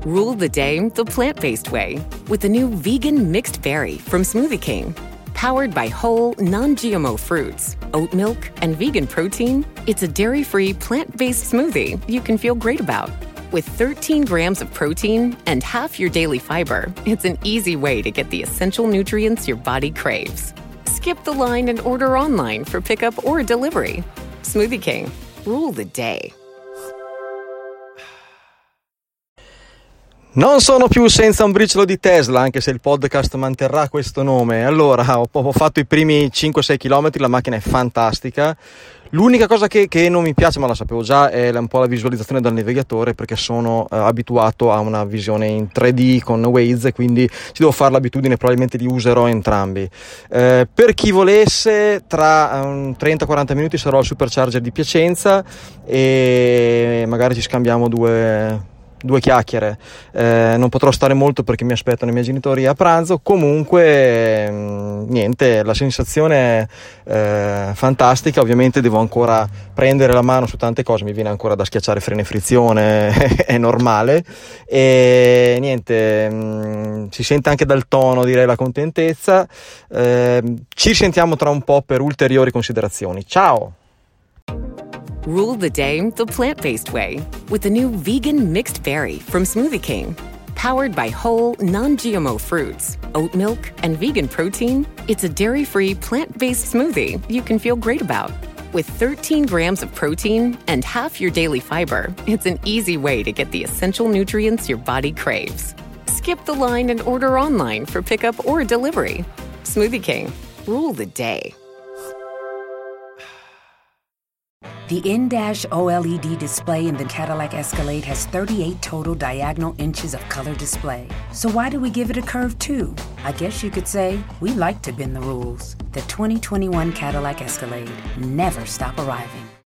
Rule the day the plant-based way with the new vegan mixed berry from Smoothie King. Powered by whole, non-GMO fruits, oat milk, and vegan protein, it's a dairy-free, plant-based smoothie you can feel great about. With 13 grams of protein and half your daily fiber, it's an easy way to get the essential nutrients your body craves. Skip the line and order online for pickup or delivery. Smoothie King. Rule the day. Non sono più senza un briciolo di Tesla, anche se il podcast manterrà questo nome. Allora, ho fatto i primi 5-6 km, la macchina è fantastica. L'unica cosa che non mi piace, ma la sapevo già, è un po' la visualizzazione dal navigatore, perché sono abituato a una visione in 3D con Waze, quindi ci devo fare l'abitudine, probabilmente li userò entrambi. Per chi volesse, tra 30-40 minuti sarò al Supercharger di Piacenza e magari ci scambiamo due chiacchiere. Non potrò stare molto perché mi aspettano i miei genitori a pranzo. Comunque niente, la sensazione è fantastica. Ovviamente devo ancora prendere la mano su tante cose, mi viene ancora da schiacciare freno e frizione è normale, e niente, si sente anche dal tono, direi, la contentezza. Ci sentiamo tra un po' per ulteriori considerazioni. Ciao. Rule the day the plant-based way with the new vegan mixed berry from Smoothie King. Powered by whole, non-GMO fruits, oat milk, and vegan protein, it's a dairy-free, plant-based smoothie you can feel great about. With 13 grams of protein and half your daily fiber, it's an easy way to get the essential nutrients your body craves. Skip the line and order online for pickup or delivery. Smoothie King. Rule the day. The in-dash OLED display in the Cadillac Escalade has 38 total diagonal inches of color display. So why do we give it a curve too? I guess you could say we like to bend the rules. The 2021 Cadillac Escalade. Never stop arriving.